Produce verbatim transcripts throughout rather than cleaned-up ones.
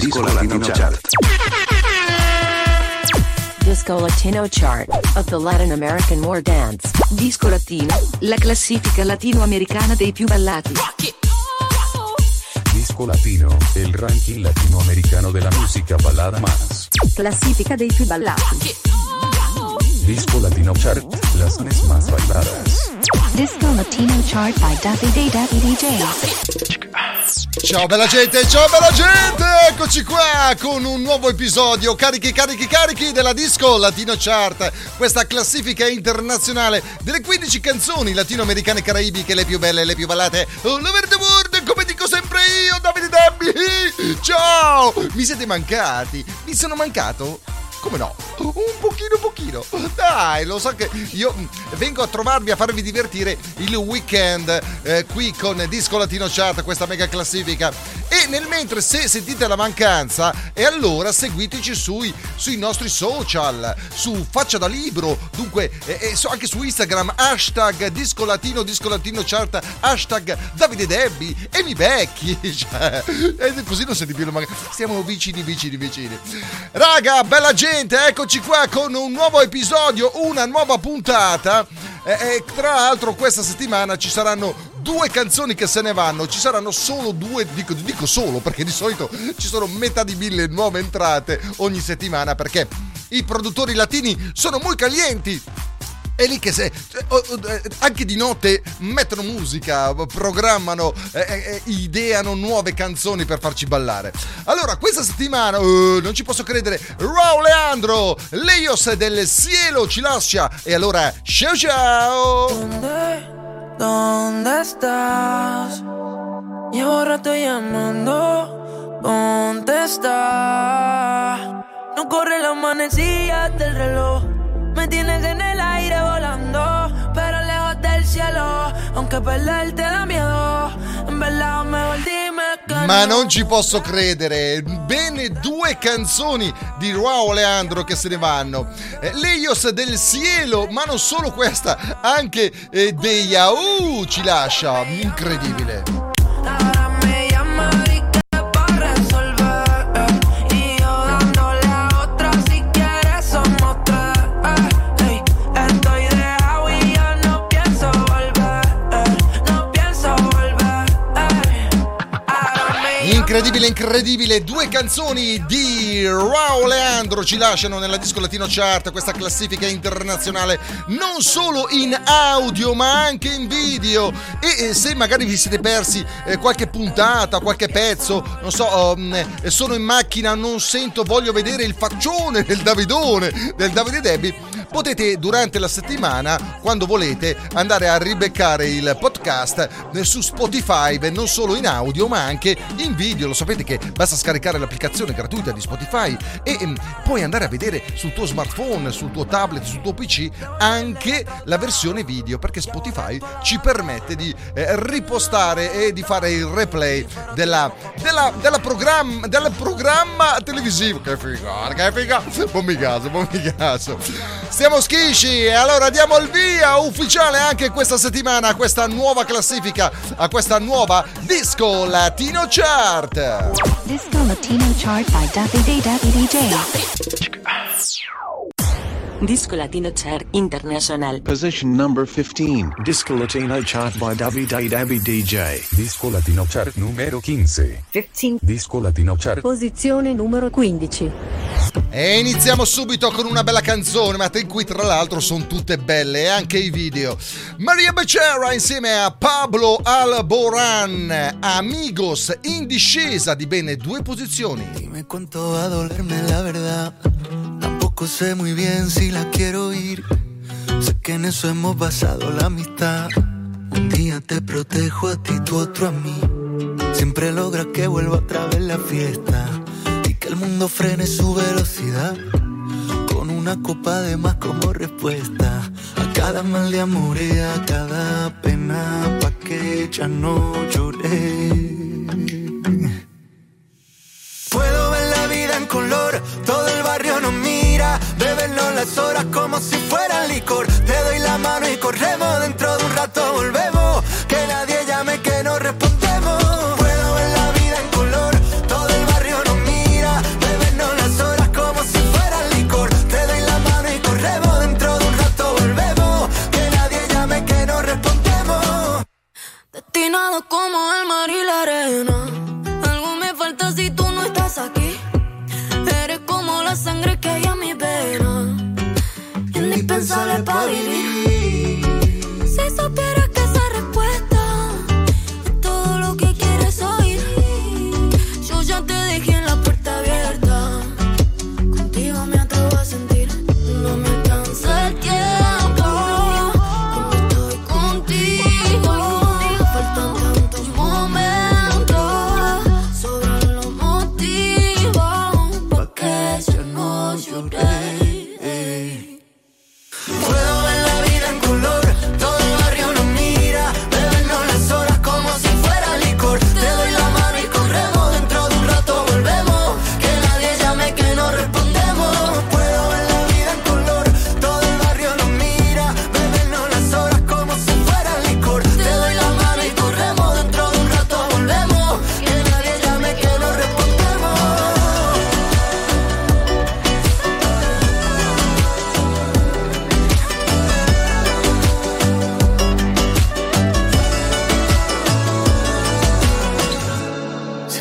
Disco Latino Chart. Disco Latino Chart of the Latin American War Dance. Disco Latino, la classifica latinoamericana dei più ballati. Disco Latino, el ranking latinoamericano de la música balada más. Classifica dei più ballati. Disco Latino Chart, las tres más bailadas. Disco Latino Chart by Davide Davide D J. Ciao bella gente, ciao bella gente, eccoci qua con un nuovo episodio carichi carichi carichi della Disco Latino Chart, questa classifica internazionale delle quindici canzoni latinoamericane e caraibiche, le più belle e le più ballate all over the world, come dico sempre io, Davide Dabbi. Ciao, mi siete mancati, mi sono mancato? Come no? Un pochino pochino. Dai, lo so che io vengo a trovarvi, a farvi divertire il weekend eh, qui con Disco Latino Chart, questa mega classifica. E nel mentre, se sentite la mancanza, e allora seguiteci sui, sui nostri social, su Faccia da Libro, dunque eh, eh, anche su Instagram, hashtag Disco Latino, Disco Latino Chart, hashtag Davide Debbi, e mi becchi. Cioè, e così non senti più la mancanza. Stiamo vicini, vicini, vicini. Raga, bella gente. Eccoci qua con un nuovo episodio, una nuova puntata e, e tra l'altro questa settimana ci saranno due canzoni che se ne vanno, ci saranno solo due, dico, dico solo perché di solito ci sono metà di mille nuove entrate ogni settimana perché i produttori latini sono molto calienti. È lì che se anche di notte mettono musica, programmano, eh, eh, ideano nuove canzoni per farci ballare. Allora, questa settimana, uh, non ci posso credere, Rauw Alejandro, Lejos del Cielo ci lascia. E allora, ciao ciao! ¿Dónde, dónde estás? Llevo rato llamando, contesta. No corre la manecilla del reloj. Me tienes en el aire volando, pero lejos del cielo, aunque perderte da miedo, en verdad mejor dime che Ma no. non ci posso credere, bene due canzoni di Rauw Alejandro che se ne vanno, eh, Lejos del Cielo, ma non solo questa, anche eh, De Yahoo ci lascia, incredibile. Ahora me llama y que va a resolver, y yo dándole a otra si quieres somos tres. Hey, estoy dejado y yo no pienso volver, no pienso volver. Ahora me Incredibile, incredibile, due canzoni di Rauw Alejandro ci lasciano nella Disco Latino Chart, questa classifica internazionale, non solo in audio ma anche in video. E eh, se magari vi siete persi eh, qualche puntata, qualche pezzo, non so, um, sono in macchina, non sento, voglio vedere il faccione del Davidone, del Davide Debbi, potete durante la settimana, quando volete, andare a ribeccare il podcast eh, su Spotify, beh, non solo in audio ma anche in video. Lo sapete che basta scaricare l'applicazione gratuita di Spotify e ehm, puoi andare a vedere sul tuo smartphone, sul tuo tablet, sul tuo P C anche la versione video, perché Spotify ci permette di eh, ripostare e di fare il replay della, della, della programma, del programma televisivo. Che figata, che figata, bommi caso, bommi caso. Stiamo schisci e allora diamo il via ufficiale anche questa settimana a questa nuova classifica, a questa nuova Disco Latino Chart. Disco Latino Chart by Davide Davide D J. Disco Latino Chart International. Position number fifteen. Disco Latino Chart by Davide Dabbi D J. Disco Latino Chart numero quince. quindici. Disco Latino Chart. Posizione numero quindici. E iniziamo subito con una bella canzone, ma in cui tra l'altro sono tutte belle e anche i video. Maria Becerra insieme a Pablo Alborán, Amigos, in discesa di bene due posizioni. Dime cuánto va a dolerme la verdad. Tampoco sé muy bien si la quiero ir. Sé que en eso hemos basado la amistad. Un día te protejo a ti, tú otro a mí. Siempre logras que vuelva otra vez la fiesta y que el mundo frene su velocidad. Con una copa de más como respuesta a cada mal de amor y a cada pena, pa' que ya no lloré. Puedo ver la vida en color, todo el barrio nos mira, bebernos las horas como si fueran licor. Te doy la mano y corremos, dentro de un rato volvemos, que nadie llame que no respondemos. Puedo ver la vida en color, todo el barrio nos mira,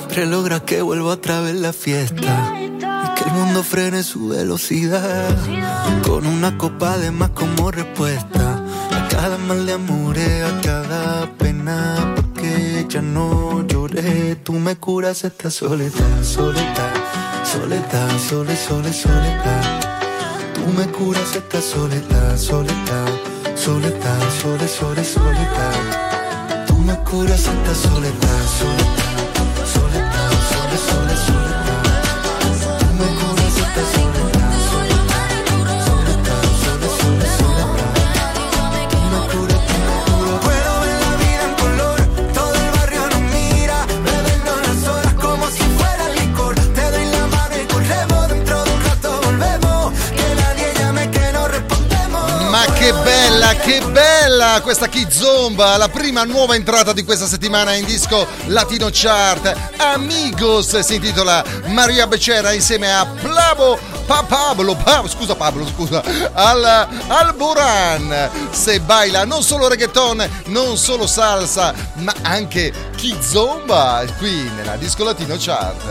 siempre logras que vuelva otra vez la fiesta. Que el mundo frene su velocidad con una copa de más como respuesta a cada mal de amores, a cada pena, porque ya no lloré. Tú me curas esta soledad, soledad, soledad, sole, sole, soledad. Tú me curas esta soledad, soledad, soledad, sole, sole, soledad. Tú me curas esta soledad, soledad, soledad, sole, sole, soledad. Me curas esta soledad, soledad, soledad, sole, sole, soledad. Me cura, me cura. Puedo ver la vida en color, todo el barrio nos mira, bebernos las horas como si fuera licor. Te doy la mano y corremos, dentro de un rato volvemos, que nadie llame que no respondemos. Ma che bella, che bella questa Kizomba, la prima nuova entrata di questa settimana in disco Latino Chart. Amigos si intitola Maria Becerra insieme a Pablo pa, Pablo, pa, scusa Pablo, scusa, al Alboran. Se baila non solo reggaeton, non solo salsa, ma anche Kizomba qui nella disco Latino Chart.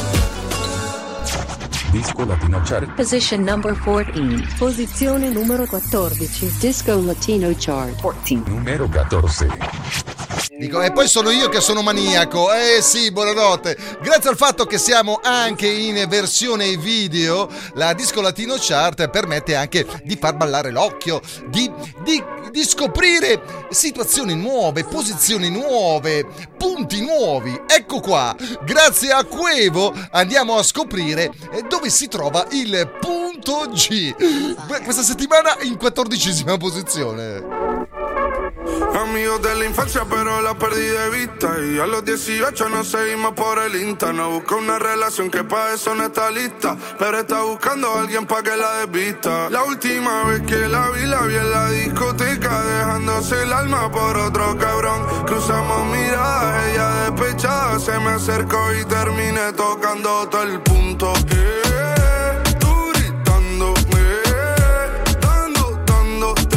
Disco Latino Chart. Position number fourteen. Posizione numero quattordici. Disco Latino Chart. quattordici. Numero quattordici. Dico, e poi sono io che sono maniaco. Eh sì, buonanotte. Grazie al fatto che siamo anche in versione video, la Disco Latino Chart permette anche di far ballare l'occhio, di, di, di scoprire situazioni nuove, posizioni nuove, punti nuovi. Ecco qua, grazie a Quevo andiamo a scoprire dove si trova il punto G. Questa settimana in quattordicesima posizione. Amigos de la infancia pero la perdí de vista. Y a los dieciocho nos seguimos por el Insta. No busca una relación que pa' eso no está lista, pero está buscando a alguien pa' que la desvista. La última vez que la vi, la vi en la discoteca, dejándose el alma por otro cabrón. Cruzamos miradas, ella despechada se me acercó y terminé tocando todo el punto. Eh, tú gritándome, dando, dándote.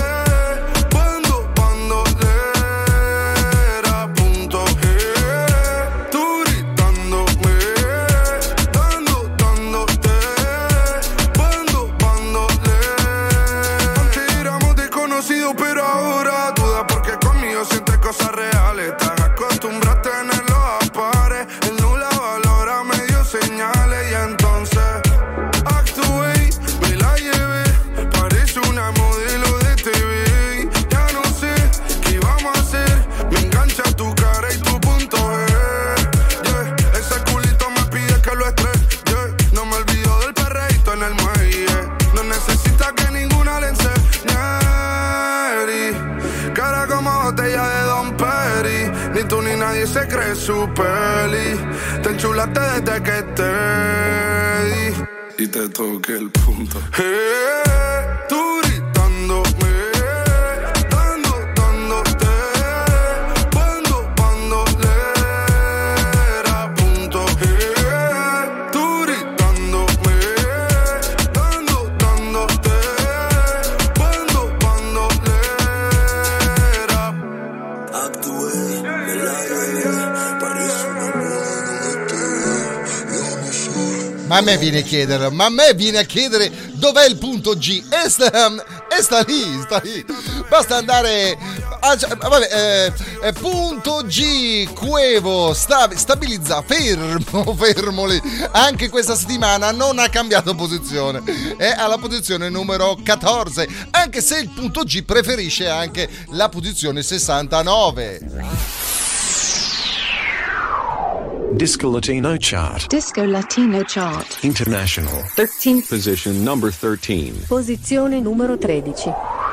Pero ahora duda porque conmigo sientes cosas reales. Estás acostumbrada a tenerlo a pares. Él no la valora, me dio señales. Y entonces actué, me la llevé. Parece una modelo de T V. Ya no sé qué vamos a hacer. Me engancha tu cara y tu punto G. Yeah. Ese culito me pide que lo estrese. Yeah. No me olvido del perreíto en el muelle. No necesita que ninguna le enseñe. Cara como botella de Don Perry. Ni tú ni nadie se cree su peli. Te enchulaste desde que te di y te toqué el punto. Hey, tú gritándome, dando, dándote, cuando, cuando le era punto. Hey, tú gritándome, dando, dándote, cuando, cuando le era. Actué, me la llevé, parece una Ma a me viene a chiedere, ma a me viene a chiedere dov'è il punto G? E sta, e sta lì, sta lì. Basta andare a, vabbè, eh, eh, punto G, Quevo, sta, stabilizza, fermo, fermo lì. Anche questa settimana non ha cambiato posizione, è alla posizione numero quattordici, anche se il punto G preferisce anche la posizione sessantanove. Disco Latino Chart. Disco Latino Chart. International. tredici. Position number thirteen. Posizione numero tredici.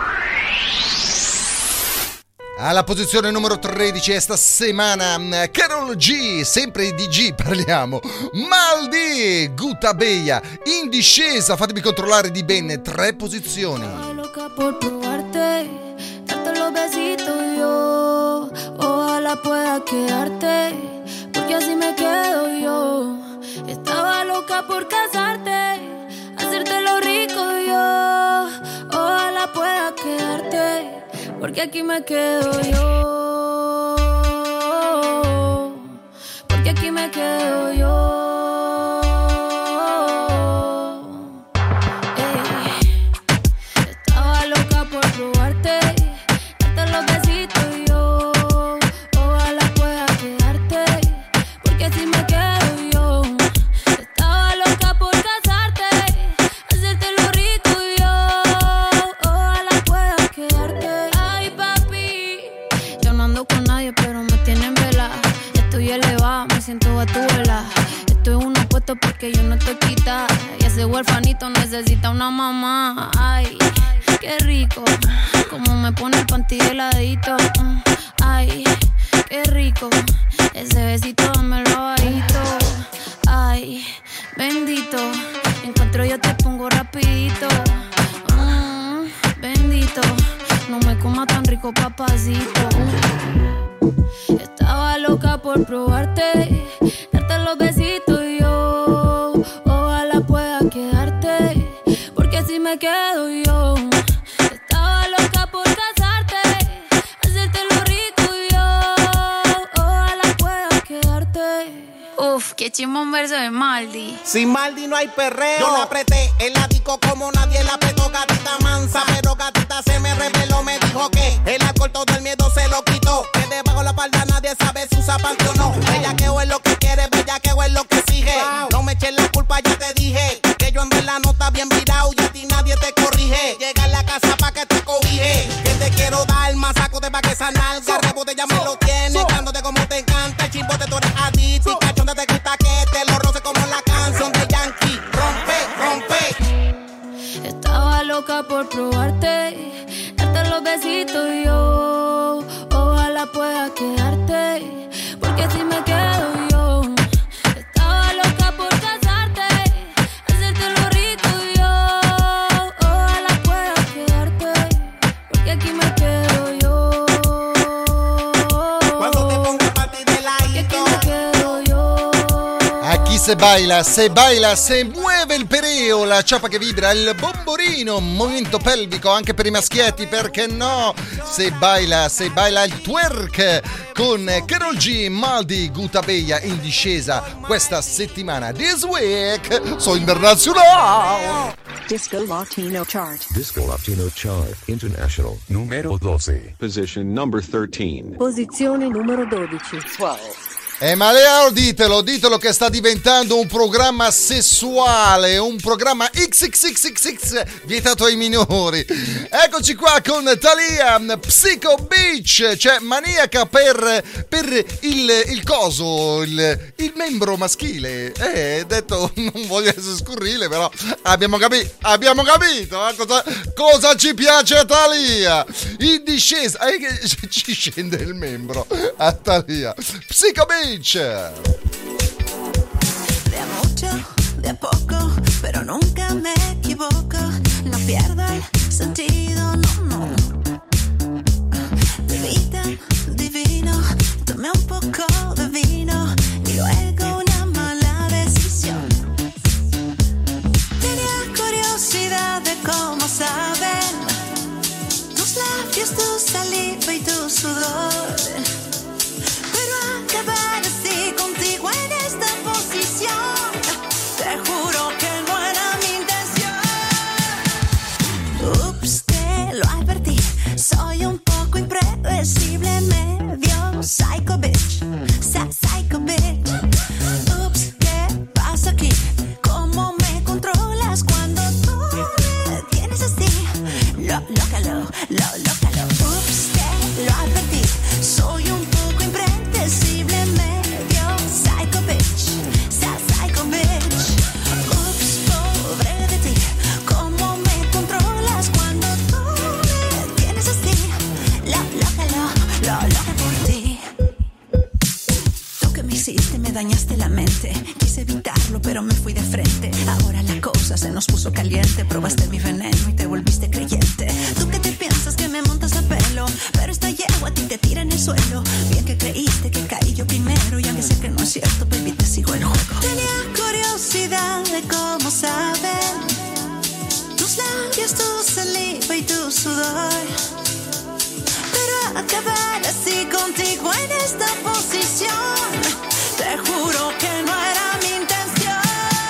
Alla posizione numero tredici esta settimana Karol G, sempre di G parliamo. Maldi, Gutta Bella, in discesa, fatemi controllare di ben tre posizioni. Loca por probarte, darte los besitos yo, ojalá pueda quedarte, porque así me quedo yo. Estaba loca por casarte, hacerte lo rico yo, ojalá pueda quedarte, porque aquí me quedo yo, porque aquí me me quedo yo. Ey, estaba loca por probarte, darte los besitos y yo. Ojalá pueda quedarte, porque si me quedo yo. Estaba loca por casarte, hacerte lo rico y yo. Ojalá pueda quedarte. Ay, papi, yo no ando con nadie, pero me tienen vela. Estoy elevada, me siento a tu vela. Estoy en uno puesto porque yo no estoy quita. Y ese huerfanito necesita una mamá. Ay, qué rico, como me pone el panty heladito. Ay, qué rico, ese besito dámelo bajito. Ay, bendito, encuentro yo te pongo rapidito. Mm, bendito, no me coma tan rico, papacito. Estaba loca por probarte, darte los besitos y yo. Ojalá pueda quedarte, porque si me quedo yo. Estaba loca por casarte, hacerte lo rico y yo. Ojalá pueda quedarte. Uf, qué chimón verso de Maldi. Sin Maldi no hay perreo. Yo la apreté en la disco como nadie la apretó, gatita mansa. Pero gatita se me reveló, me dijo que el alcohol todo el miedo se lo quitó. Que debajo la espalda nadie sabe si usa panty o no. Bellaqueo es lo que quiere, bellaqueo es lo que sigue. Wow. No me eches la culpa, ya te dije que yo en verdad no está bien virado y a ti nadie te corrige. Llega a la casa pa' que te cobije, que te quiero dar más saco de pa' que esa nalga. So, rebote ya so, me lo tienes, so, cándote como te encanta. El chimbote tú eres adicto, so, y cachonda te gusta que te lo roce como la canción de Yankee. Rompe, rompe. Estaba loca por probarte, darte los besitos y yo. Ojalá pueda quedarte, porque si me quedo yo. Estaba loca por casarte, hacerte lo rico y yo. Ojalá pueda quedarte, porque aquí me quedo yo. Cuando te pongo pa' ti de ladito, porque aquí me quedo yo. Aquí se baila, se baila, se muove il pereo, la ciapa che vibra, il bomborino, movimento pelvico anche per i maschietti, perché no? Se baila, se baila il twerk con Karol G, Maldi, Guta Beia in discesa questa settimana. This week, so internazionale. Disco Latino Chart. Disco Latino Chart International numero dodici. Position number thirteen. Posizione numero dodici. Eh, ma Leo, ditelo, ditelo che sta diventando un programma sessuale, un programma X X X X X vietato ai minori. Eccoci qua con Thalia, Psycho Bitch, cioè maniaca per, per il, il coso, il, il membro maschile. Eh, detto, non voglio essere scurrile, però abbiamo capito, abbiamo capito eh, cosa, cosa ci piace a Thalia. In discesa, eh, ci scende il membro a Thalia. Psycho Bitch. De a mucho, de a poco, pero nunca me equivoco. No pierdo el sentido, no, no. Bebida, divino, tomé un poco de vino y luego una mala decisión. Tenía curiosidad de cómo saben tus labios, tu saliva y tu sudor. Acabar así contigo en esta posición, te juro que no era mi intención. Ups, te lo advertí, soy un poco impredecible, medio psycho bitch, psycho bitch. Ups, ¿qué pasa aquí? ¿Cómo me controlas cuando tú me tienes así? Lo, lócalo, lo, lócalo. Ups, te lo advertí, soy un poco impredecible, medio psycho bitch, psycho bitch. Ups, pobre de ti, ¿cómo me controlas cuando tú me tienes así? Lo, lócalo, lo, loca por ti. Tú que me hiciste, me dañaste la mente. Quise evitarlo, pero me fui de frente. Ahora la cosa se nos puso caliente. Probaste mi veneno y te volviste creyente. Tú que te piensas que me montas a pelo, pero esta yegua a ti te tira en el suelo. Bien que creíste que caí yo primero, y aunque sé que no es cierto, baby, te sigo el juego. Tenía curiosidad de cómo saben tus labios, tu saliva y tu sudor. Pero acabar así contigo en esta posición, te Te juro que no era mi intención.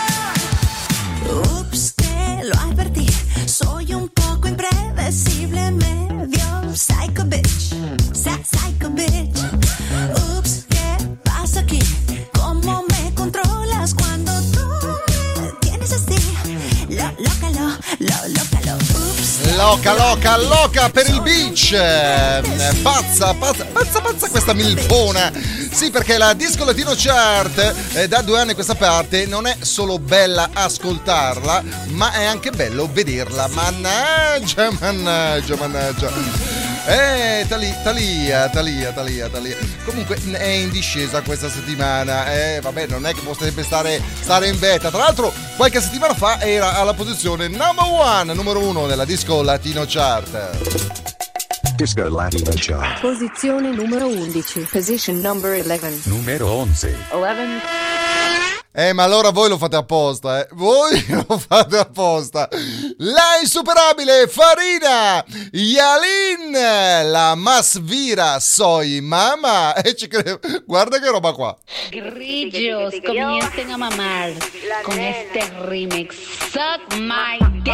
Ups, te lo advertí. Soy un poco impredecible, medio psycho bitch. Sa- psycho bitch. Ups, ¿qué pasa aquí? ¿Cómo me controlas cuando tú me tienes así? Lo, lócalo, lo, lócalo. Ups. Loca, loca, loca per il beach. Eh, Pazza, pazza, pazza, pazza questa milfona. Sì, perché la Disco Latino Chart eh, da due anni a questa parte non è solo bella ascoltarla, ma è anche bello vederla. Mannaggia, mannaggia, mannaggia. Eh, Tali- Talia, Talia, Talia, Talia. Comunque è in discesa questa settimana. Eh, vabbè, non è che può sempre stare, stare in vetta. Tra l'altro, qualche settimana fa era alla posizione number one, numero uno della Disco Latino Chart. Disco Latino Chart. Posizione numero undici. Position number eleven. Numero once. eleven. Eh, ma allora voi lo fate apposta, eh? Voi lo fate apposta. La insuperabile Farina Yalin, la más vira soy mama. E ci credo. Guarda che roba qua. Grillos, comiencen a mamar con este remix. Suck my dick.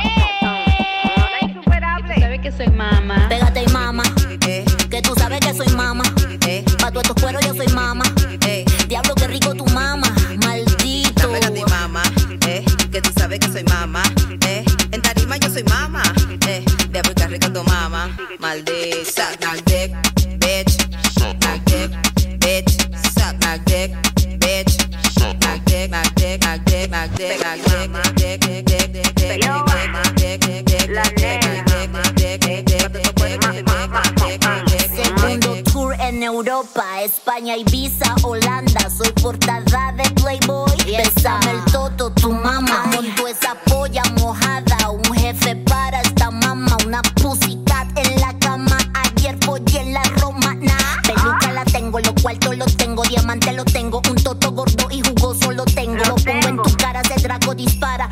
¿Sabes que soy mama? Pégate y mama, eh, que tú sabes que soy mama, eh, pa' todos estos cueros yo soy mama, eh, diablo que rico tu mama, maldito. Pégate y mama, eh, que tú sabes que soy mama, eh, en tarima yo soy mama, eh, diablo que rico tu mama, maldita. Suck my dick, bitch, suck my dick, bitch, suck my dick, bitch, suck my dick, my dick, my dick, my dick, my dick, my dick, dick, dick, dick, dick, dick, dick, dick, dick, Segundo tour en Europa, España, Ibiza, Holanda. Soy portada de Playboy. Bésame el toto, tu mamá. Monto esa polla mojada. Un jefe para esta mamá. Una pussycat en la cama. Ayer follé en la romana. Peluca la tengo, los cuartos los tengo. Diamante lo tengo. Un toto gordo y jugoso lo tengo. Lo pongo en tu cara, ese drago dispara.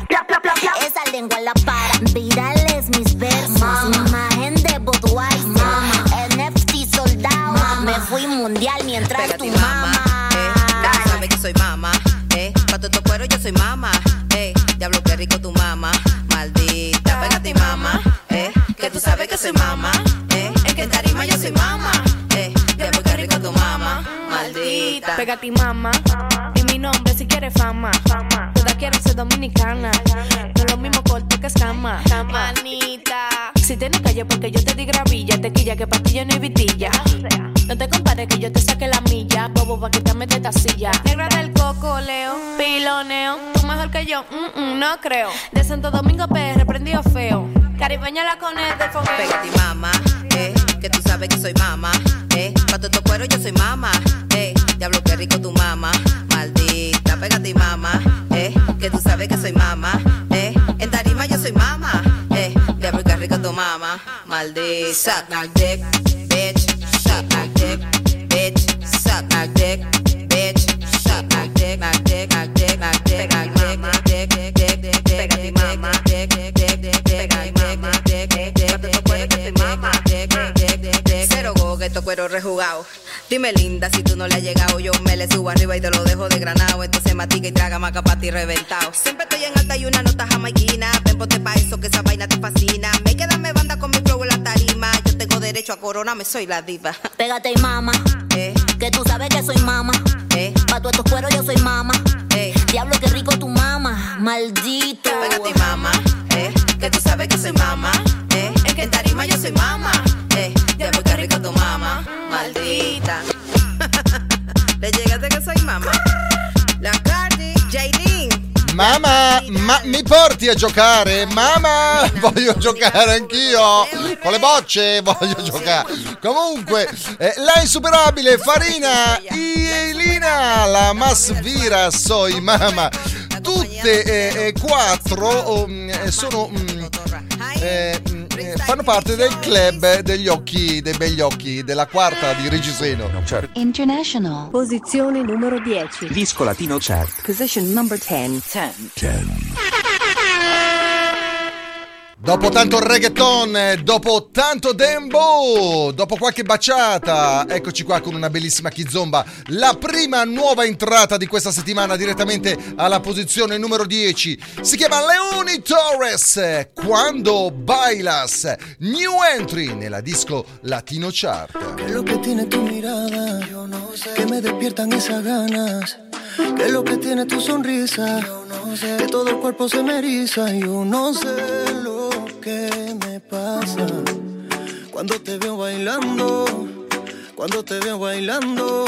Esa lengua la para. Virales mis versos. Imagen de Budweiser. N F T soldado. Me fui mundial mientras Pégate tu y mamá. eh, que tú sabes que soy mama, eh, pa' todo cuero yo soy mama, eh, diablo que rico tu mama, maldita. Pégate y mama, eh, que tú sabes que soy mama, eh, es que en tarima yo soy mama, eh, diablo que rico tu mama, maldita. Pégate y mama, y mi nombre si quieres fama. Todas quieren ser dominicana, no es lo mismo corte que escama. Manita, si tienes calle porque yo te di gravilla, tequilla que pastillo no hay vitilla. No te compares que yo te saque la milla, bobo pa' quitarme de esta silla. Negra del coco, Leo, piloneo, tú mejor que yo, mm, mm, no creo. De Santo Domingo P R, prendido feo, caribeña la conecta del fogueo. Pégate y mama, eh, que tú sabes que soy mama, eh, pa' todo cuero yo soy mama, eh, diablo que rico tu mama, maldita. Pégate y mama, eh, que tú sabes que soy mama, eh, en tarima yo soy mama, eh, diablo que rico tu mama, maldita. Suck my dick, bitch, suck my dick, bitch, suck my dick, bitch, suck my dick, my dick, my dick, my dick, my dick, my dick, dick, dick, dick, dick, dick, mama, dick, dick, dick, dick, dick, mama, dick, dick, dick, dick, dick, dick, mama, dick, dick, dick, dick, dick. Cero gogueto, cuero rejugado. Dime linda, si tú no le has llegado, yo me le subo arriba y te lo dejo de granado. Entonces matica y traga maca pa' ti reventado. Siempre estoy en alta y una nota jamaiquina. Ven, ponte pa' eso que esa vaina te fascina. Me queda me banda con mi flow en la tarima. Yo tengo derecho a coronarme, soy la diva. Pégate y mama, eh, que tú sabes que soy mama, eh, pa' todos estos cueros yo soy mama, eh, diablo que rico tu mama, maldito. Pégate y mama, eh, que tú sabes que soy mama, eh, es que en tarima yo soy mama, eh, diablo que rico tu mama, maldita. Le llegaste che sei mamma. La Cardi, Jaylin. Mamma, ma mi porti a giocare? Mamma, voglio giocare anch'io. Con le bocce voglio giocare. Comunque, eh, la insuperabile Farina Yelina, la más vira soy mamma. Tutte e eh, quattro um, sono um, eh, eh, fanno parte del club degli occhi, dei begli occhi, della quarta di Reggiseno. International. Posizione numero dieci. Disco Latino Chart. Position number ten. ten. ten. Dopo tanto reggaeton, dopo tanto dembo, dopo qualche baciata, eccoci qua con una bellissima kizomba, la prima nuova entrata di questa settimana direttamente alla posizione numero dieci. Si chiama Leoni Torres, Quando Bailas, new entry nella disco Latino Chart. ¿Qué es lo que tiene tu mirada? Yo no sé. Que me despiertan esas ganas. ¿Qué es lo que tiene tu sonrisa? Yo no sé. Que todo el cuerpo se me eriza. Yo no sé lo que me pasa cuando te veo bailando, cuando te veo bailando.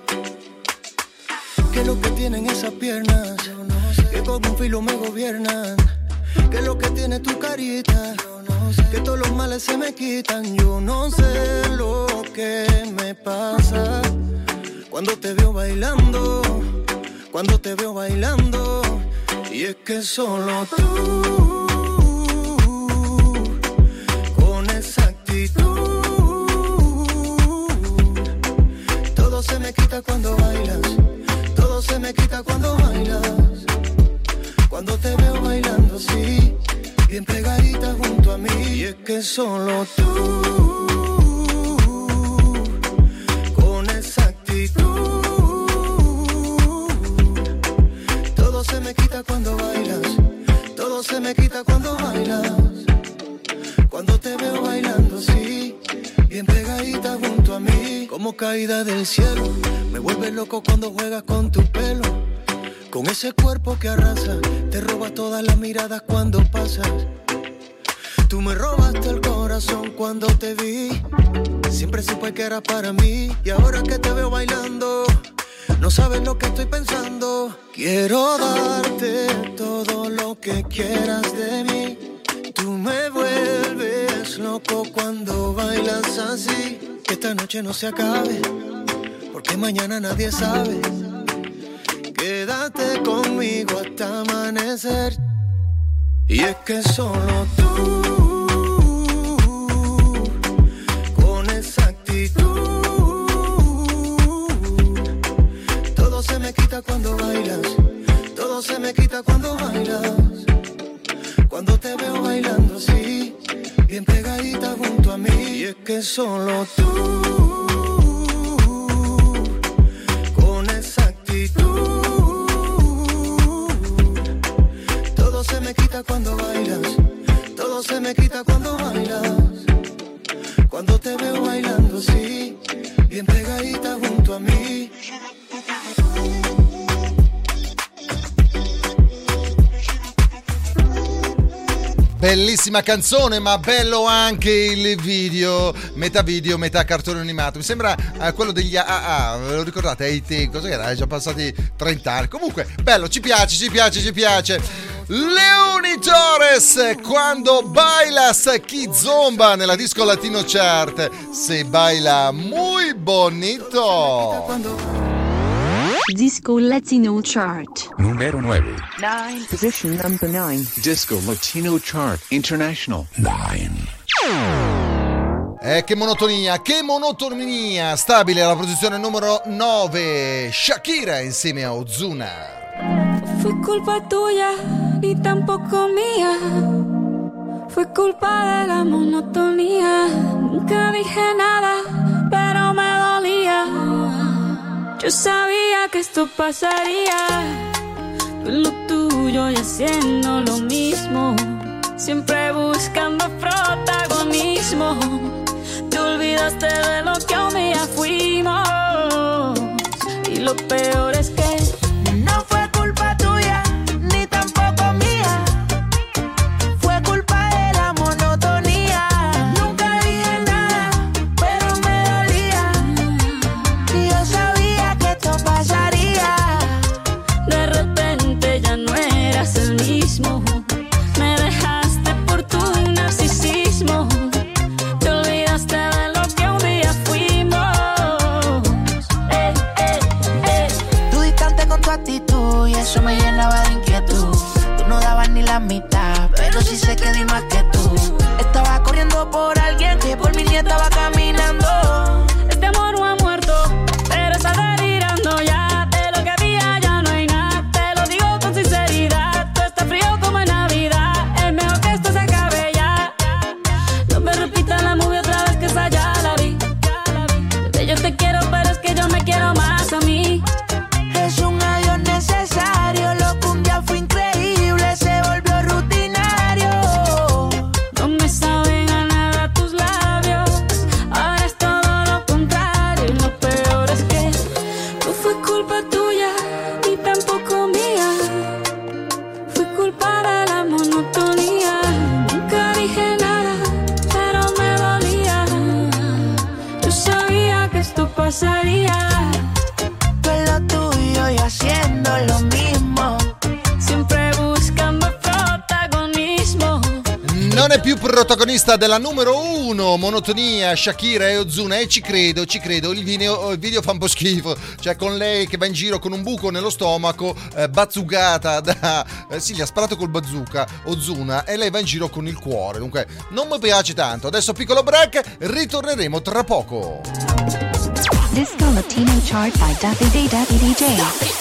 ¿Qué es lo que tienen esas piernas? Yo no sé. Que con un filo me gobiernan. ¿Qué es lo que tiene tu carita? Yo no sé. Que todos los males se me quitan. Yo no sé lo que me pasa cuando te veo bailando, cuando te veo bailando. Y es que solo tú, con esa actitud, todo se me quita cuando bailas, todo se me quita cuando bailas. Cuando te veo bailando así, bien pegadita junto a mí. Y es que solo tú, con esa actitud, todo se me quita cuando bailas, todo se me quita cuando bailas. Cuando te veo bailando así, bien pegadita junto a mí. Como caída del cielo, me vuelves loco cuando juegas con tu pelo. Con ese cuerpo que arrasa, te robas todas las miradas cuando pasas. Tú me robaste el corazón cuando te vi. Siempre supe que era para mí. Y ahora que te veo bailando, no sabes lo que estoy pensando. Quiero darte todo lo que quieras de mí. Tú me vuelves loco cuando bailas así. Que esta noche no se acabe, porque mañana nadie sabe. Quédate conmigo hasta amanecer. Y es que solo tú, con esa actitud, todo se me quita cuando bailas, todo se me quita cuando bailas. Cuando te veo bailando así, bien pegadita junto a mí. Y es que solo tú, con esa actitud, todo se me quita cuando bailas, todo se me quita cuando bailas. Cuando te veo bailando así, bien pegadita junto a mí. Bellissima canzone, ma bello anche il video, metà video, metà cartone animato. Mi sembra eh, quello degli A A A, ve lo ricordate? A T, cosa che era? Già passati trenta anni. Comunque, bello, ci piace, ci piace, ci piace. Leoni Torres, Quando Bailas, Kizomba nella disco Latino Chart. Se baila muy bonito. Disco Latino Chart. Numero nueve. Nine. Position number nine. Disco Latino Chart International. nine. Eh, che monotonia, che monotonia. Stabile alla posizione numero nove. Shakira insieme a Ozuna. Fue culpa tuya y tampoco mía. Fue culpa de la monotonía. Nunca dije nada, pero me dolía. Yo sabía que esto pasaría. Tú en lo tuyo y haciendo lo mismo. Siempre buscando protagonismo. Te olvidaste de lo que un día fuimos. Y lo peor es que no fue culpa tuya, ni tampoco mía. Fue culpa de la monotonía. Nunca dije nada, pero me dolía. Y yo sabía que esto pasaría. De repente ya no eras el mismo. Me dejaste por tu narcisismo. Te olvidaste de lo que un día fuimos. Eh, eh, eh. Tú distante con tu actitud y eso me llenaba de inquietud. Tú no dabas ni la mitad, pero sí sé que di más que tú. Estaba corriendo por alguien que por mí ni estaba caminando. Este amor no ha muerto, pero está delirando ya. De lo que había ya no hay nada. Te lo digo con sinceridad. Tú estás frío como en Navidad. Es mejor que esto se acabe ya. pasaría. Tú en lo tuyo y haciendo lo mismo. Siempre buscando protagonismo. Non è più protagonista della numero uno, monotonia, Shakira e Ozuna, e ci credo, ci credo, il video, il video fa un po' schifo, cioè con lei che va in giro con un buco nello stomaco, eh, bazzugata da... Eh, sì, gli ha sparato col bazooka Ozuna e lei va in giro con il cuore, dunque non mi piace tanto. Adesso piccolo break, ritorneremo tra poco. Disco Latino Chart by Davide Davide D J.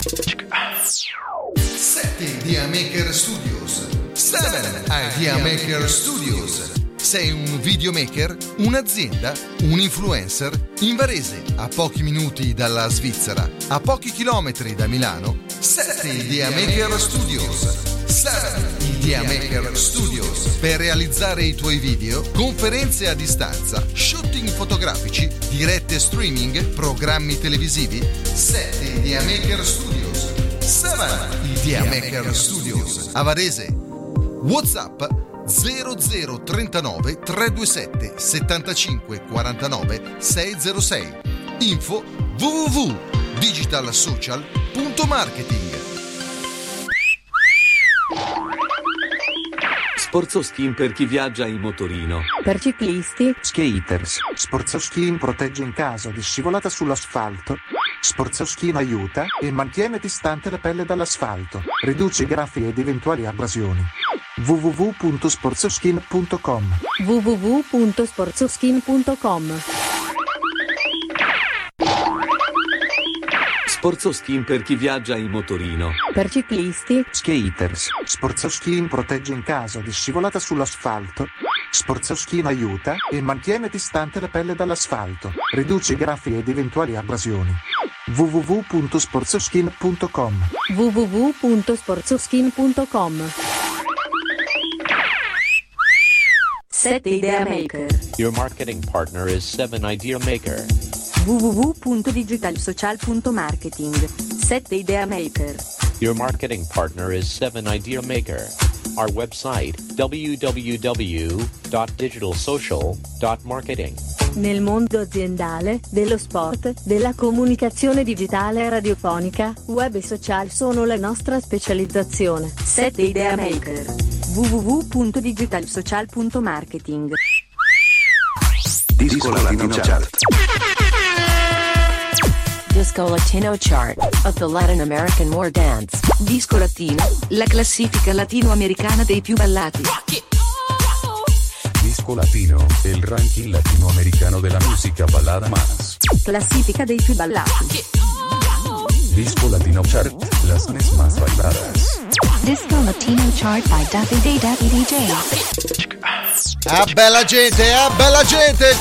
sette Idea Maker Studios. sette Idea Maker Studios. Sei un videomaker, un'azienda, un influencer? In Varese, a pochi minuti dalla Svizzera, a pochi chilometri da Milano, sette Idea Maker Studios. sette Idea Maker Studios. Per realizzare i tuoi video, conferenze a distanza, shooting fotografici, dirette streaming, programmi televisivi, sette Idea Maker Studios. sette Idea Maker Studios. A Varese. WhatsApp zero zero trentanove trecentoventisette settantacinque quarantanove seicentosei. Info w w w punto digitalsocial punto marketing. Sportsoskin per chi viaggia in motorino. Per ciclisti. Skaters. Sportsoskin protegge in caso di scivolata sull'asfalto. Sportsoskin aiuta e mantiene distante la pelle dall'asfalto. Riduce graffi ed eventuali abrasioni. w w w punto sportsoskin punto com. w w w punto sportsoskin punto com. Sportsoskin per chi viaggia in motorino. Per ciclisti. Skaters. Sportsoskin protegge in caso di scivolata sull'asfalto. Sportsoskin aiuta e mantiene distante la pelle dall'asfalto. Riduce graffi ed eventuali abrasioni. w w w punto sportsoskin punto com. w w w punto sportsoskin punto com. sette Idea Maker. Your marketing partner is seven Idea Maker. w w w punto digitalsocial punto marketing. sette Idea Maker. Your marketing partner is seven Idea Maker. Our website w w w punto digitalsocial punto marketing. Nel mondo aziendale, dello sport, della comunicazione digitale e radiofonica, web e social sono la nostra specializzazione. sette Idea Maker. w w w punto digitalsocial punto marketing. Disco Latino Chart. Disco Latino Chart of the Latin American More Dance. Disco Latino, la classifica latinoamericana dei più ballati. Disco Latino, el ranking latinoamericano de la música balada más. Classifica dei più ballati. Disco Latino Chart, las canciones más bailadas. Disco Latino Chart by Davide Davide D J. Ah bella gente, ah bella gente,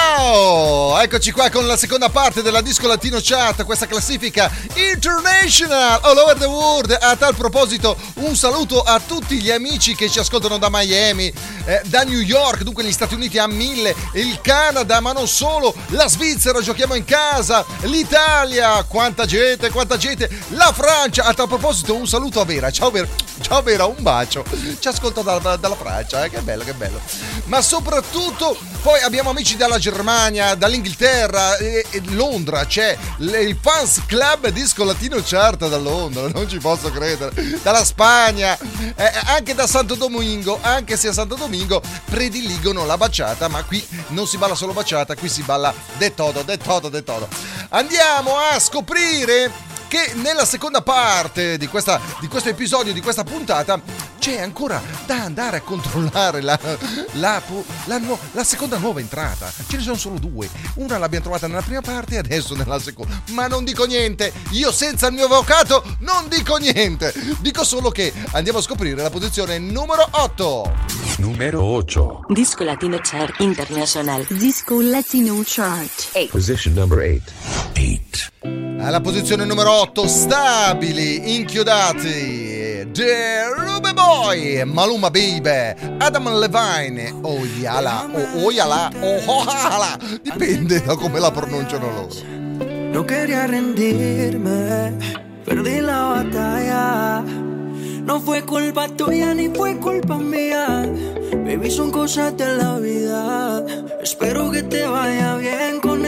ciao! Eccoci qua con la seconda parte della Disco Latino Chart, questa classifica international all over the world. A tal proposito un saluto a tutti gli amici che ci ascoltano da Miami, eh, da New York, dunque gli Stati Uniti a mille, il Canada, ma non solo, la Svizzera, giochiamo in casa, l'Italia, quanta gente, quanta gente, la Francia. A tal proposito un saluto a Vera, ciao Vera, ciao Vera, un bacio, ci ascolta da, dalla Francia, eh, che bello, che bello. Ma soprattutto poi abbiamo amici dalla Germania, dall'Inghilterra, e, e Londra, c'è il Fans Club Disco Latino Chart da Londra, non ci posso credere, dalla Spagna, eh, anche da Santo Domingo, anche se a Santo Domingo prediligono la baciata, ma qui non si balla solo baciata, qui si balla de todo, de todo, de todo. Andiamo a scoprire che nella seconda parte di, questa, di questo episodio, di questa puntata, c'è ancora da andare a controllare la, la, la, la, la seconda nuova entrata. Ce ne sono solo due, una l'abbiamo trovata nella prima parte e adesso nella seconda, ma non dico niente, io senza il mio avvocato non dico niente, dico solo che andiamo a scoprire la posizione numero otto. Numero otto. Disco Latino Chart International. Disco Latino Chart eight. Position number eight. eight. Alla posizione numero otto, stabili, inchiodati, The Ruby Boy, Maluma Baby, Adam Levine, Oyala, o Oyala, o Ohala, dipende da come la pronunciano loro. No quería rendirme, perdí la batalla. No fue culpa tuya ni fue culpa mía. Baby, son cosas de la vida. Espero que te vaya bien con el que le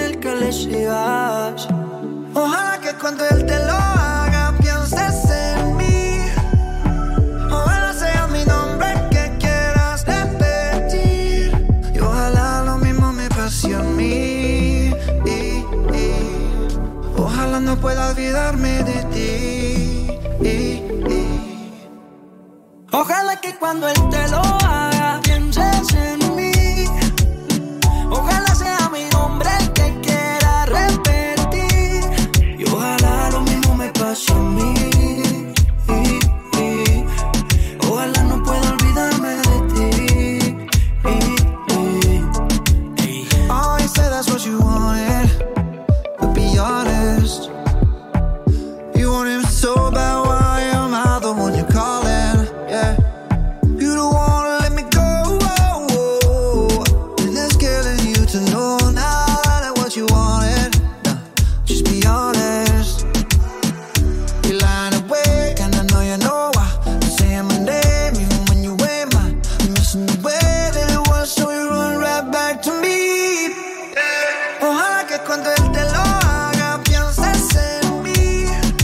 recibas. Ojalá que cuando él te lo haga pienses en mí. Ojalá sea mi nombre el que quieras repetir. Y ojalá lo mismo me pase a mí. Y, y, ojalá no pueda olvidarme de ti. Y, y, ojalá que cuando él te lo haga pienses en mí. Ojalá sea mi nombre el que quiera repetir. Y ojalá lo mismo me pase a mí. Y, y, ojalá no pueda olvidarme de ti. Y, y, y. Oh, you said that's what you wanted, but be honest. You want him so bad, why am I the one you're calling? Yeah. You don't wanna let me go. And it's killing you to know now that what you wanted. Nah, just be honest. You're lying awake, and I know you know why. You're saying my name even when you ain't mine. I'm missing the way that it was, so you run right back to me. Ojalá que cuando él te lo haga pienses en mí.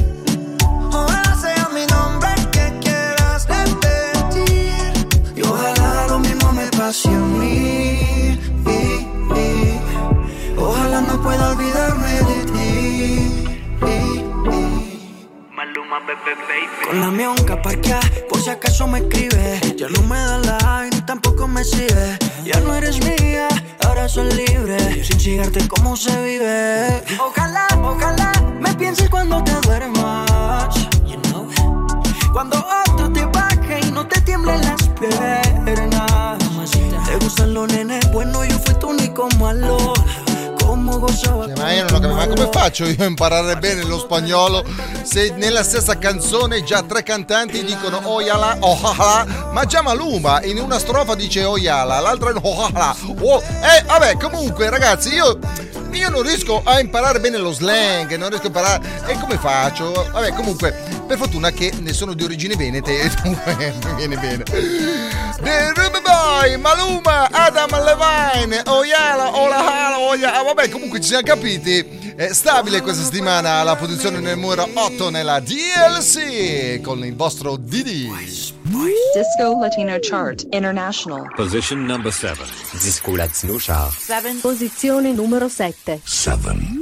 Ojalá sea mi nombre el que quieras repetir. Y ojalá lo mismo me pase a mí. Y, y, ojalá no pueda olvidarme de ti. Y, y. Maluma, bebé, baby. Con la mionca parqueada, por si acaso me escribe. Ya no me da like, ni tampoco me sigue. Ya no eres mía, ahora soy libre. Sin cigarte, ¿cómo se vive? Ojalá, ojalá me pienses cuando te duermas. You know? Cuando otro te baje y no te tiemblen las piernas. Te gustan los nenes, bueno, io fui tu unico malo. Come gozava. Ma io non ho capito, ma come faccio io a imparare bene lo spagnolo se nella stessa canzone già tre cantanti dicono oyala, ojalá, ma già Maluma in una strofa dice oyala, l'altra è ojalá. Oh, eh, vabbè, comunque ragazzi, io io non riesco a imparare bene lo slang, non riesco a imparare. E come faccio? Vabbè, comunque, per fortuna che ne sono di origini venete, mi viene bene. The Ruby Boy, Maluma, Adam Levine, Oyala, Olahala, Oyala. Vabbè, comunque ci siamo capiti. È stabile questa settimana alla posizione numero otto nella D L C con il vostro Didi. Disco Latino Chart International. Position number seven. Disco Latino Chart. seven. Posizione numero sette. seven.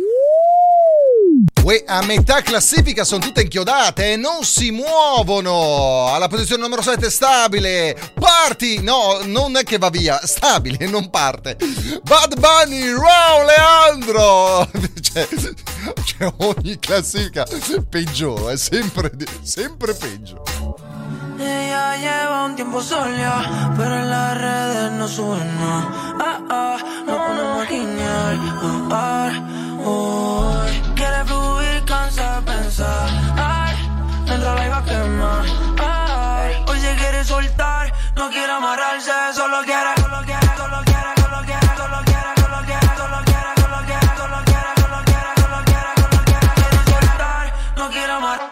Uè, a metà classifica sono tutte inchiodate e non si muovono. Alla posizione numero sette stabile. Parti, no, non è che va via, stabile, non parte. Bad Bunny, Raul Leandro. Cioè, cioè ogni classifica peggiora, è sempre, sempre peggio. Ella lleva un tiempo sola, pero en las redes no sube nada. Ah, ah, no una máquina. Ah, ah, oh. Quiere fluir, cansa de pensar. Ay, dentro la iba a quemar. Ay, hoy se quiere soltar, no quiere amarrarse, solo quiere, solo quiere, solo quiere, solo quiere, solo quiere, solo quiere, solo quiere, solo quiere, solo quiere, solo quiere, solo quiere, solo quiere, quiere soltar, no quiere amarrar.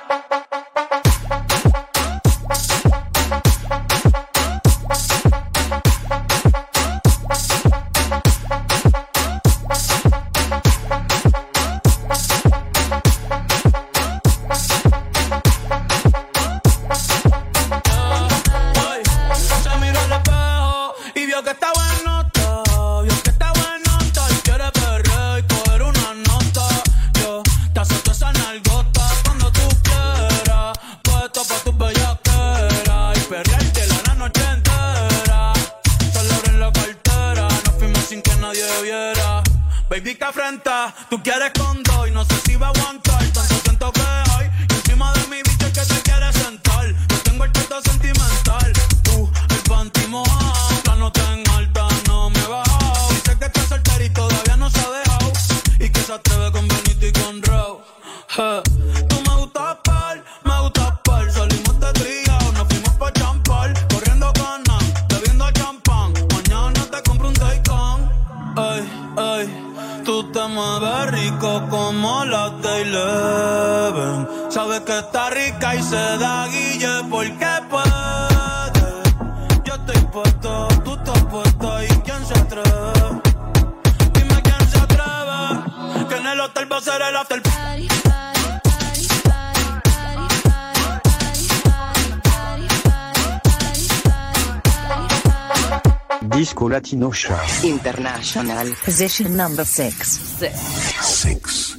Baby, que afrenta, tú quieres con dos y no sé si va a aguantar. Tanto siento que hay y encima de mi bicho es que te quieres sentar. Yo tengo el trato sentimental, tú el panty mojado. La nota en alta no me he bajado. Dice que está soltera y todavía no se ha dejado. Y que se atreve con Benito y con Raw. Hey. Tú me gustas par, me gustas par. Salimos de trío, nos fuimos pa' champar. Corriendo canas, bebiendo champán. Mañana te compro un Taycan. Ay, ay. Tú te mueves rico como las de Eleven. Sabes que está rica y se da guille porque puede. Yo estoy puesto, tú estás puesta y quién se atreve. Dime quién se atreve. Que en hacer el after. Disco Latino Chart International. Position number six. six.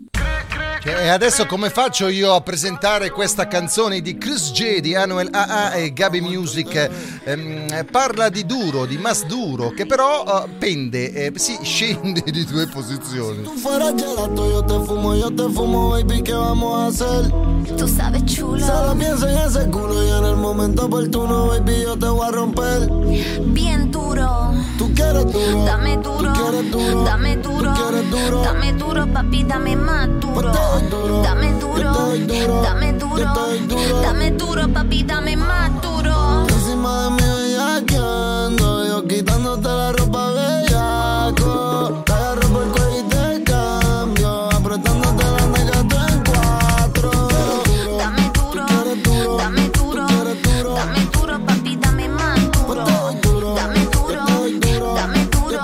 E adesso come faccio io a presentare questa canzone di Chris J, di Anuel A A e Gabi Music? Ehm, parla di duro, di más duro, che però uh, pende, eh, si scende di due posizioni. Tu fueras gelato, yo te fumo, yo te fumo, baby, ¿qué vamos a hacer? Tú sabes, chulo. Solo pienso en ese culo y en el momento oportuno, baby, yo te voy a romper. Bien duro. Tú quieres duro. Dame duro. Tú quieres duro. Dame duro. Tú quieres duro. Dame duro, papi, dame más duro. Duro. Dame duro, duro. dame duro, duro. dame duro, papi, dame más duro. Encima de mí bellaqueando, yo quitándote la ropa bellaco. Te agarro por el cuello y te cambio, apretándote la nega tú en cuatro. Dame duro, dame duro, dame duro, papi, dame más duro. Dame duro, dame duro, dame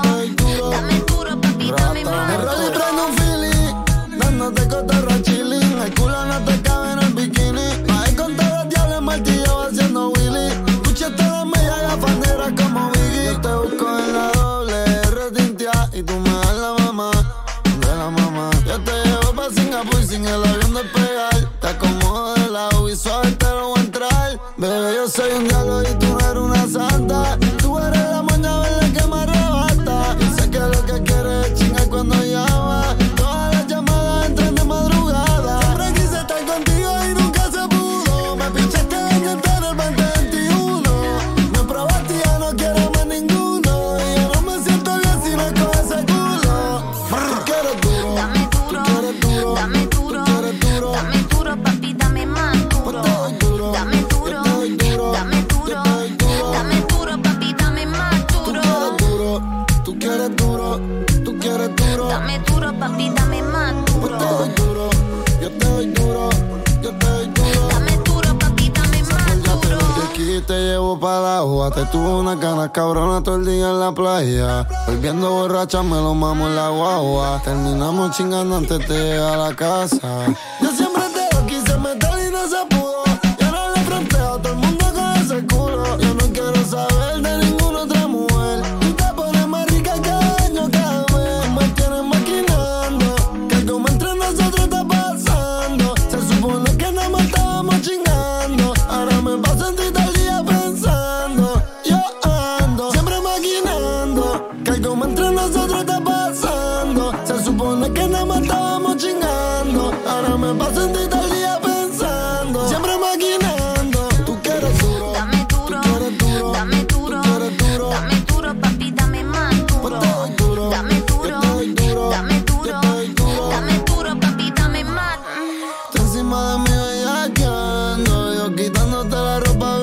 duro, papi, dame más Me rollo y duro. prendo un feeling, dándote cotorra chilling. El culo no te cabe en el bikini. Ahí con todos los diablos martillo haciendo Willy. Escúchate la media gafanera como Biggie. Yo te busco en la doble R tintia y tú me das la mamá de la mamá. Yo te llevo pa' Singapur sin el avión despegar. Te acomodo de lado y suave te lo voy a entrar. Bebé, yo soy un diablo y tú no eres una santa. Tú eres la moña verde que me arrebata. Y sé que lo que quieres es chingar cuando llama. Todas las llamadas entran de madrugada. Siempre quise estar contigo y nunca se pudo. Me pinchaste en entero el veinte veintiuno. Me probaste y ya no quiero más ninguno. Y yo no me siento bien si no es con ese culo. Tú quieres duro. Dame duro, dame duro, dame duro, papi, dame más duro. Dame duro, dame duro, dame duro, papi, dame más duro. Tú quieres duro, tú quieres duro. Dame duro, papi, dame más duro. Yo te doy duro, yo te doy duro, yo te doy duro. Dame duro, papi, dame más duro. De aquí te llevo para la agua. Te tuvo una ganas cabrona todo el día en la playa. Volviendo borracha me lo mamo en la guagua. Terminamos chingando antes de llegar a la casa. Yo siempre te lo quise meter y no se pudo. Y ahora le fronteo a todo el mundo con ese culo. Yo no quiero saber de ninguna otra mujer. Tú te pones más rica cada año, cada mes. Me tienes maquinando. Que algo entre nosotros está pasando. Se supone que nada más estábamos chingando. Ahora me paso en ti todo el día pensando. Yo ando siempre maquinando. Que algo entre nosotros está pasando. Se supone que nada más estábamos chingando. Ahora me paso en ti todo el día pensando. Siempre maquinando. Tú quieres duro. Dame duro, dame duro, dame duro, papi, dame más duro. Dame duro, dame duro, dame duro, papi, dame más. Tú encima de mí bellaqueando, yo quitándote la ropa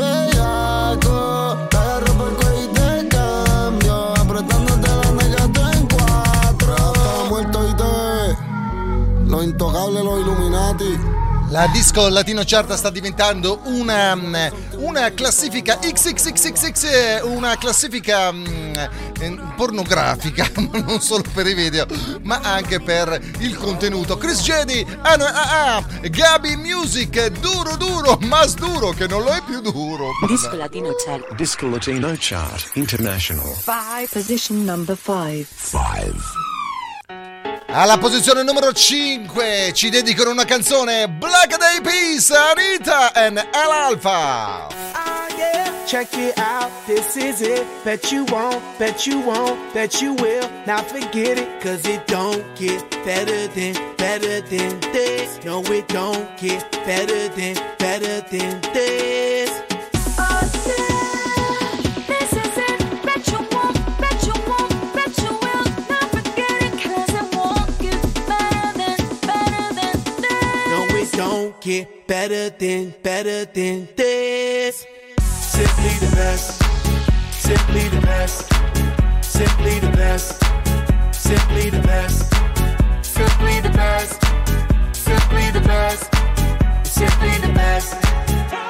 bellaco. Te agarro por el cuello y te cambio, apretándote la nega tú en cuatro. Estaba muerto y te ve, los intocables, los Illuminati. La Disco Latino Chart sta diventando una, una classifica X X X X X, una classifica um, pornografica, non solo per i video, ma anche per il contenuto. Chris J, Anu A A, Gabi Music, duro duro, mas duro che non lo è più duro. Disco Latino Chart. Disco Latino Chart International. Five. Position number five. five. Alla posizione numero cinque ci dedicano una canzone, Black Eyed Peas, Anita and Al Alpha. Ah, yeah. Check it out, this is it. Bet you won't, bet you won't, bet you will. Now forget it, cause it don't get better than, better than this. No, it don't get better than, better than this. Oh, yeah, this is it. Bet you won't, bet you won't, bet you will. Now forget it, cause it won't get better than, better than this. No, it don't get better than, better than this. Simply the best, simply the best, simply the best, simply the best, simply the best, simply the best, simply the best.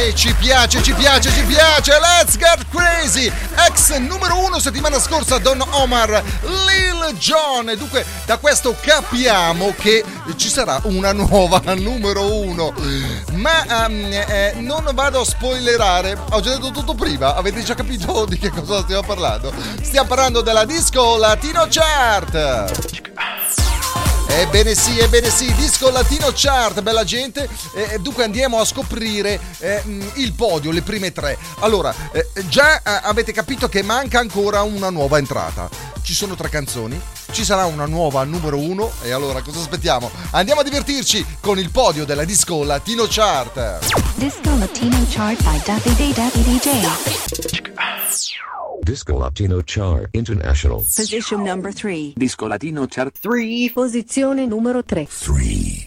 E ci piace, ci piace, ci piace. Let's get crazy. Ex numero uno settimana scorsa Don Omar, Lil Jon. E dunque da questo capiamo che ci sarà una nuova numero uno. Ma um, eh, non vado a spoilerare. Ho già detto tutto prima. Avete già capito di che cosa stiamo parlando? Stiamo parlando della Disco Latino Chart. Ebbene sì, ebbene sì, Disco Latino Chart, bella gente. Eh, dunque andiamo a scoprire eh, il podio, le prime tre. Allora, eh, già eh, avete capito che manca ancora una nuova entrata. Ci sono tre canzoni, ci sarà una nuova numero uno. E allora cosa aspettiamo? Andiamo a divertirci con il podio della Disco Latino Chart. Disco Latino Chart by Davide Davide D J. Disco Latino Chart International. Position number three. Disco Latino Chart tre. Posizione numero tre. tre.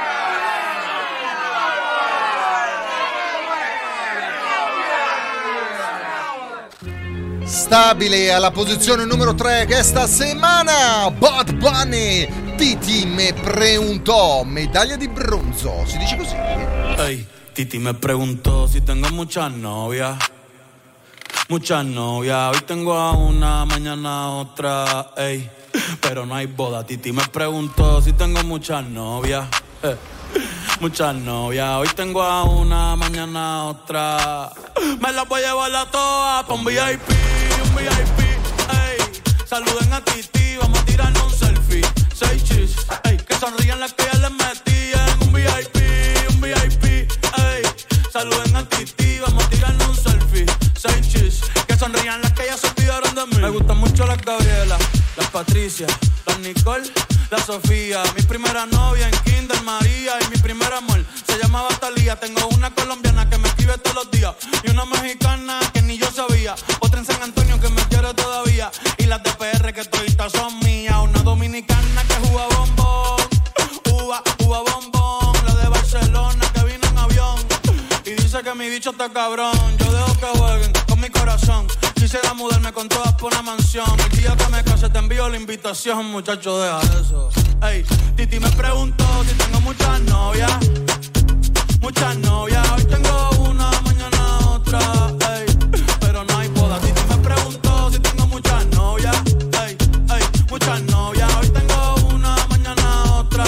Stabile alla posizione numero tre questa settimana Bad Bunny, Titi me preguntó, medaglia di bronzo, si dice così. Hey, Titi me preguntó si tengo muchas novias. Muchas novias, hoy tengo a una, mañana a otra, ey, pero no hay boda. Titi me preguntó si tengo muchas novias, eh, muchas novias, hoy tengo a una, mañana a otra. Me las voy a llevar a todas pa' un V I P, un V I P, ey. Saluden a Titi, vamos a tirarnos un selfie. Seis chis, ey, que sonrían las que ya les metí en un V I P, un V I P, ey. Saluden a Titi, vamos a tirarnos un selfie. Seis chis, que sonrían las que ya se olvidaron de mí. Me gustan mucho las Gabriela, las Patricia, las Nicole, la Sofía. Mi primera novia en Kinder María y mi primer amor se llamaba Talía. Tengo una colombiana que me escribe todos los días y una mexicana que ni yo sabía. Otra en San Antonio que me quiere todavía y las de P R que toditas son mías. Una dominicana que juega bombón, uva, uva bombón. La de Barcelona que vino en avión y dice que mi bicho está cabrón. Yo dejo que jueguen con mi corazón. Quisiera mudarme con todas por una mansión. El día que me case te envío la invitación, muchacho, deja eso. Ey, Titi me preguntó si tengo muchas novias. Muchas novias, hoy tengo una, mañana otra. Ey, pero no hay boda. Titi me preguntó si tengo muchas novias. Ey, ey, muchas novias, hoy tengo una, mañana otra.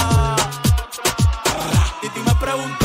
Titi me preguntó.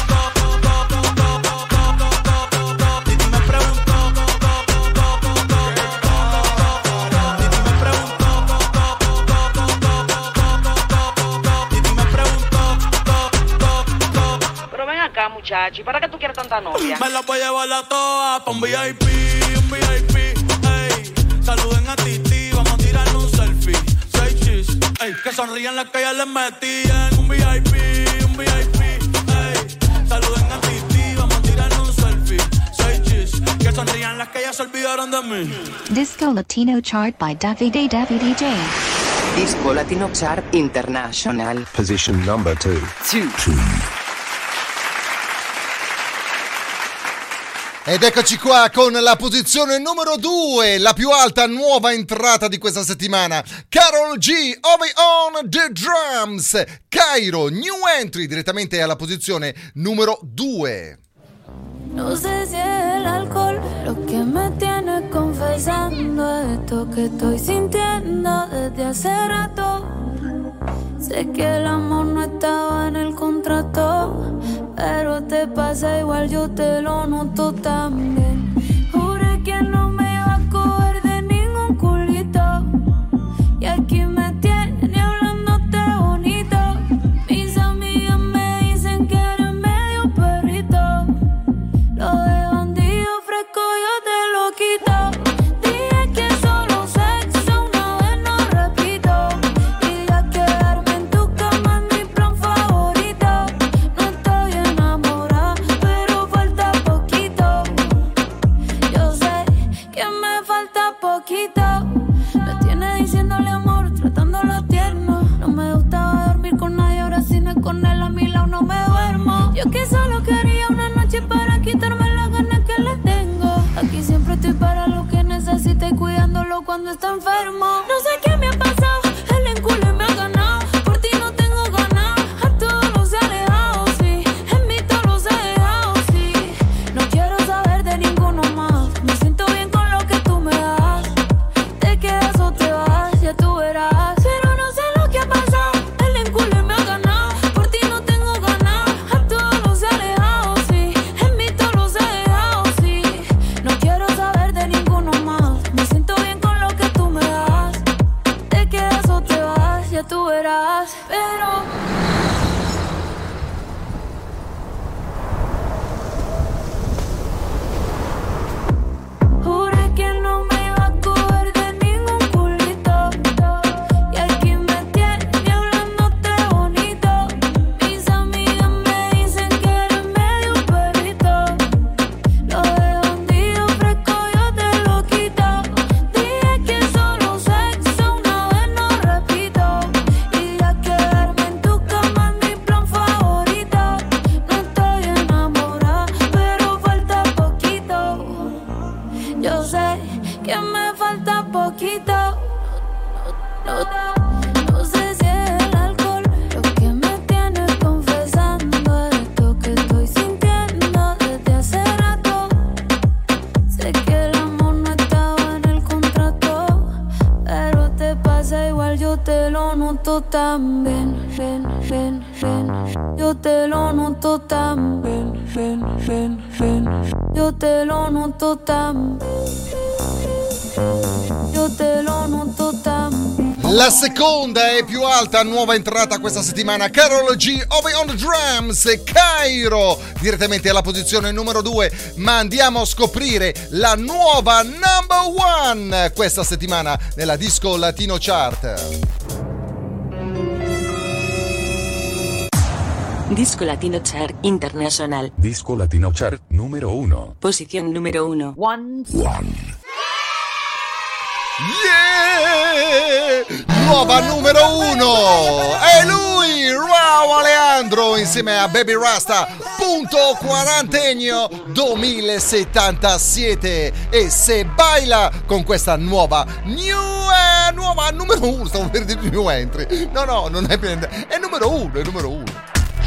Muchachi, ¿para qué tú quieres tanta novia? Me la voy a llevar a todas pa' un V I P, un V I P, ey. Saluden a Titi, vamos a tirarle un selfie. Seis chis, ey. Que sonrían las que ya les metí en un V I P, un V I P, ey. Saluden a Titi, vamos a tirarle un selfie. Seis chis, que sonrían las que ya se olvidaron de mí. Disco Latino Chart by Davide Davide D J. Disco Latino Chart International. Position number two. Two. two. Ed eccoci qua con la posizione numero due, la più alta nuova entrata di questa settimana. Karol G, Over on the Drums. Cairo, new entry, direttamente alla posizione numero due. No sé si es el alcohol lo que me tiene confesando esto que estoy sintiendo desde hace rato. Sé que el amor no estaba en el contrato, pero te pasa igual, yo te lo noto también. Juré que no me iba a coger de ningún culito y aquí me tiene hablándote bonito. Mis amigas me dicen que eres medio perrito. Lo de bandido fresco yo te lo quito. Dije que solo sexo una vez no repito. Y ya quedarme en tu cama es mi plan favorito. No estoy enamorada, pero falta poquito. Yo sé que me falta poquito. Me tiene diciéndole amor, tratándolo tierno. No me gustaba dormir con nadie, ahora si no es con él a mi lado no me duermo. Yo que solo quería una noche para quitarme las ganas que le tengo. Aquí siempre estoy para lo que necesite y cuidándolo cuando está enfermo. No sé qué me ha pasado, el encule me ha ganado. Por ti no tengo ganas, a todos los he alejado, sí. En mí todos los he dejado, sí. No que me falta poquito. No, no, no sé si es el alcohol lo que me tiene confesando esto que estoy sintiendo desde hace rato. Sé que el amor no estaba en el contrato, pero te pasa igual, yo te lo noto también. Ven, ven, ven, yo te lo noto también. Ven, ven, ven, yo te lo noto también. Io te lo noto tanto. La seconda e più alta nuova entrata questa settimana, Karol G, Ove on the Drums, Cairo, direttamente alla posizione numero due, ma andiamo a scoprire la nuova number one questa settimana nella Disco Latino Chart. Disco Latino Chart International. Disco Latino Chart numero uno. Posición número uno. One. One. Yeah! Nuova numero uno! È lui, Rauw Alejandro, insieme a Baby Rasta, punto quarantennio duemilasettantasette. E se baila con questa nuova new, eh, nuova numero uno, stavo per dire new entry. No, no, non è per è numero uno, è numero uno.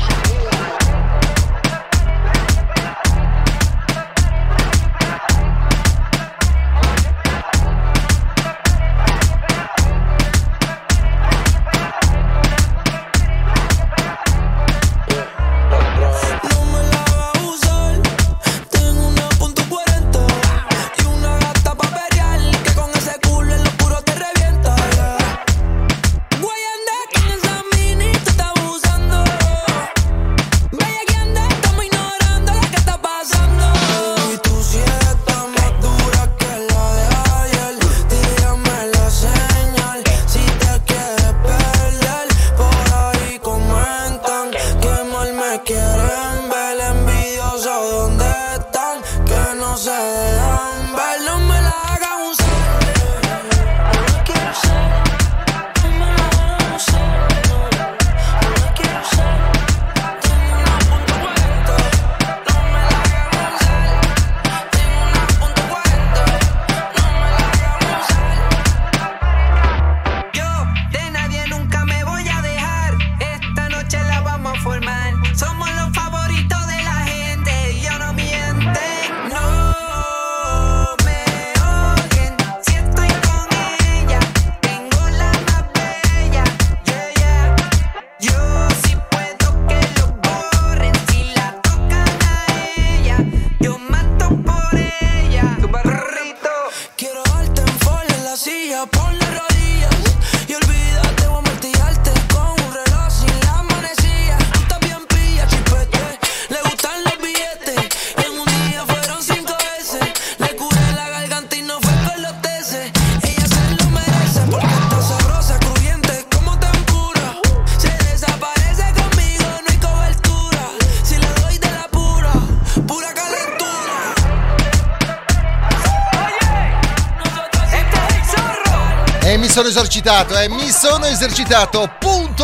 Sono esercitato, eh, mi sono esercitato, punto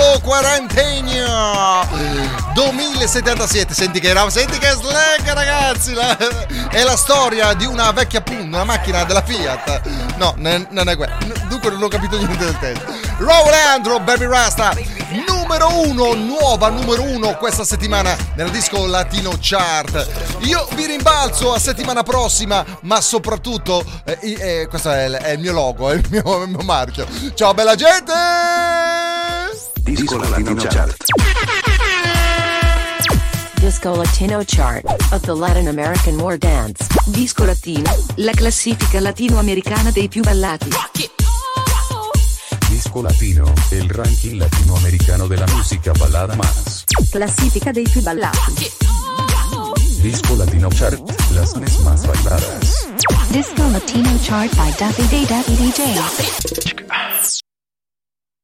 quarantennio duemilasettantasette. Senti che era, senti che slang, ragazzi, la, è la storia di una vecchia punta, una macchina della Fiat. No, ne, non è quello, dunque non ho capito niente del testo. Rauw Alejandro, Baby Rasta, numero uno, nuova numero uno questa settimana nella Disco Latino Chart. Io vi rimbalzo a settimana prossima, ma soprattutto eh, eh, questo è il, è il mio logo, è il mio, il mio marchio. Ciao bella gente! Disco Latino Chart. Disco Latino Chart of the Latin American War Dance. Disco Latino, la classifica latinoamericana dei più ballati. Disco Latino, el ranking latinoamericano de la música balada más. Classifica dei più ballati. Disco Latino Chart, las canciones más bailadas. Disco Latino Chart by Daffy Day Daffy D J.